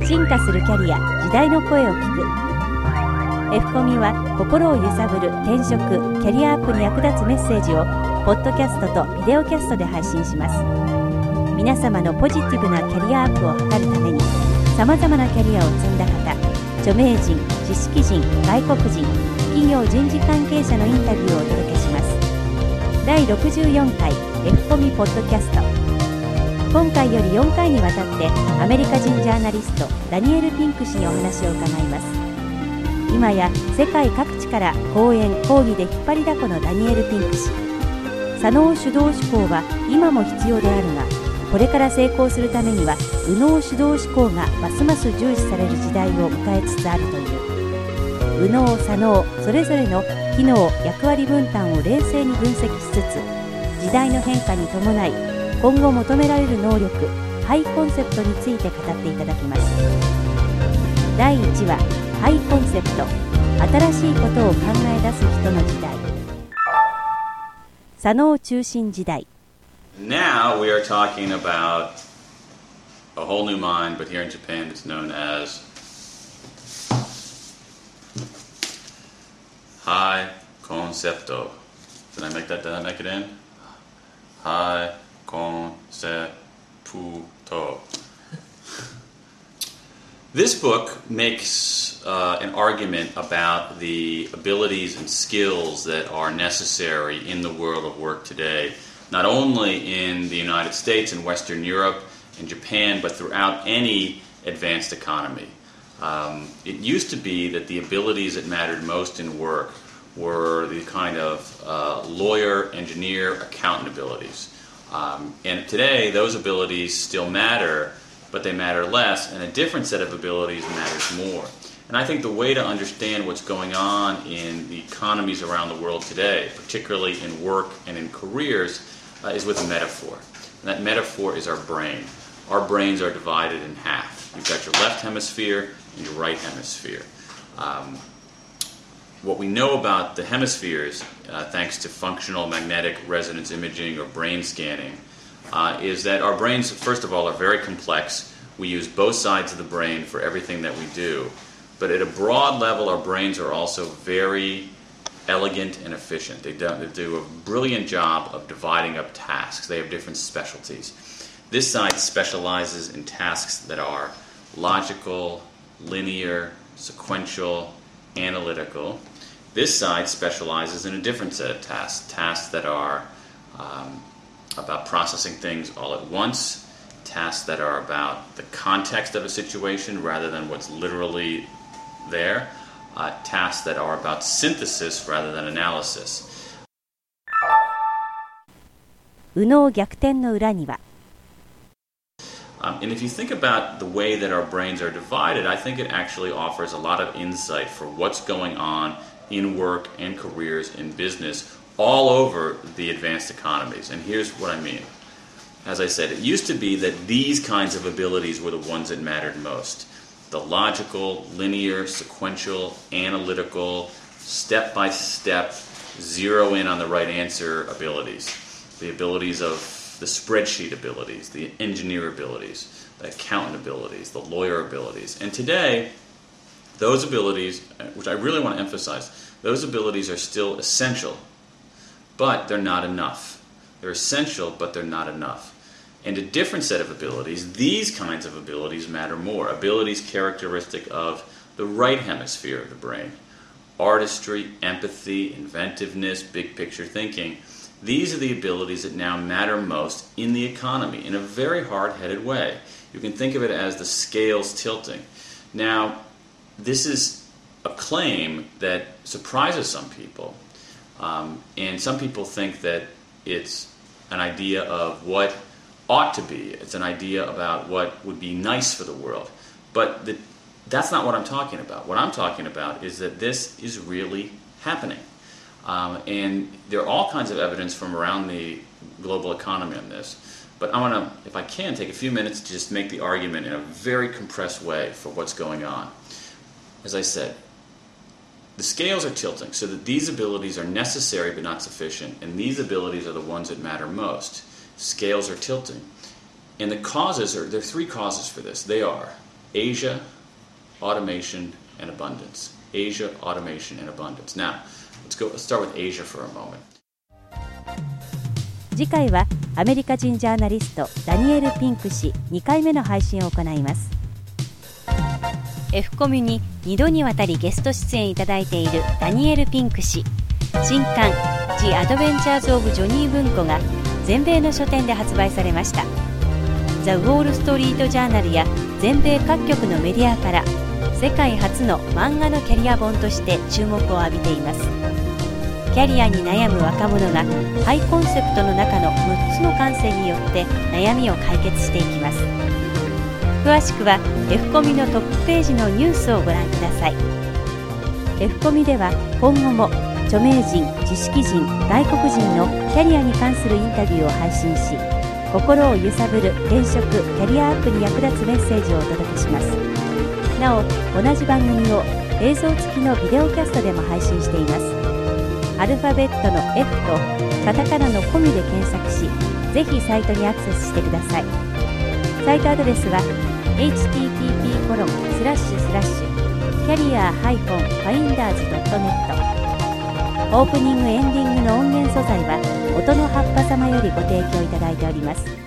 進化するキャリア、時代の声を聞く。F コミは心を揺さぶる転職・キャリアアップに役立つメッセージをポッドキャストとビデオキャストで配信します。皆様のポジティブなキャリアアップを図るために、さまざまなキャリアを積んだ方、著名人、知識人、外国人、企業人事関係者のインタビューをお届けします。第64回 F コミポッドキャスト。今回より4回にわたってアメリカ人ジャーナリストダニエル・ピンク氏にお話を伺います。今や世界各地から講演・講義で引っ張りだこのダニエル・ピンク氏。左脳主導思考は今も必要であるが、これから成功するためには右脳主導思考がますます重視される時代を迎えつつあるという。右脳左脳それぞれの機能・役割分担を冷静に分析しつつ、時代の変化に伴い今後求められる能力、ハイコンセプトについて語っていただきます。第1話、ハイコンセプト、新しいことを考え出す人の時代。左脳中心時代。 Now we are talking about a whole new mind, but here in Japan it's known as high concepto. Did I make it in? High concepto. This book makes an argument about the abilities and skills that are necessary in the world of work today, not only in the United States and Western Europe and Japan, but throughout any advanced economy. It used to be that the abilities that mattered most in work were the kind of lawyer, engineer, accountant abilities. And today, those abilities still matter, but they matter less, and a different set of abilities matters more. And I think the way to understand what's going on in the economies around the world today, particularly in work and in careers, is with a metaphor. And that metaphor is our brain. Our brains are divided in half. You've got your left hemisphere and your right hemisphere. What we know about the hemispheres, thanks to functional magnetic resonance imaging or brain scanning, is that our brains, first of all, are very complex. We use both sides of the brain for everything that we do. But at a broad level, our brains are also very elegant and efficient. They do a brilliant job of dividing up tasks. They have different specialties. This side specializes in tasks that are logical, linear, sequential, analytical. This side specializes in a different set of tasks that are about processing things all at once, tasks that are about the context of a situation rather than what's literally there, tasks that are about synthesis rather than analysis. 右脳逆転の裏には And if you think about the way that our brains are divided, I think it actually offers a lot of insight for what's going on in work and careers in business all over the advanced economies. And here's what I mean. As I said, it used to be that these kinds of abilities were the ones that mattered most. The logical, linear, sequential, analytical, step-by-step, zero in on the right answer abilities. The abilities of the spreadsheet abilities, the engineer abilities, the accountant abilities, the lawyer abilities. And today, those abilities, which I really want to emphasize, those abilities are still essential, but they're not enough. They're essential, but they're not enough. And a different set of abilities, these kinds of abilities matter more. Abilities characteristic of the right hemisphere of the brain. Artistry, empathy, inventiveness, big picture thinking. These are the abilities that now matter most in the economy in a very hard-headed way. You can think of it as the scales tilting. Now, this is a claim that surprises some people. And some people think that it's an idea of what ought to be. It's an idea about what would be nice for the world. But that's not what I'm talking about. What I'm talking about is that this is really happening. And there are all kinds of evidence from around the global economy on this. But I want to, if I can, take a few minutes to just make the argument in a very compressed way for what's going on. As I said, the scales are tilting so that these abilities are necessary but not sufficient, and these abilities are the ones that matter most. Scales are tilting. And the causes there are three causes for this. They are Asia, automation, and abundance. Asia, automation, and abundance. Now, let's start with Asia for a moment. 次回はアメリカ人ジャーナリストダニエル・ピンク氏2回目の配信を行います。F コミュに2度にわたりゲスト出演いただいているダニエル・ピンク氏。新刊 The Adventures of Johnny 文庫が全米の書店で発売されました。ザ・ウォール・ストリート・ジャーナルや全米各局のメディアから世界初の漫画のキャリア本として注目を浴びています。キャリアに悩む若者がハイコンセプトの中の6つの感性によって悩みを解決していきます。詳しくは F コミのトップページのニュースをご覧ください。F コミでは今後も著名人、知識人、外国人のキャリアに関するインタビューを配信し、心を揺さぶる転職・キャリアアップに役立つメッセージをお届けします。なお、同じ番組を映像付きのビデオキャストでも配信しています。アルファベットの F とカタカナのコミで検索し、ぜひサイトにアクセスしてください。サイトアドレスは http://carrier-finders.net。オープニング・エンディングの音源素材は音の葉っぱ様よりご提供いただいております。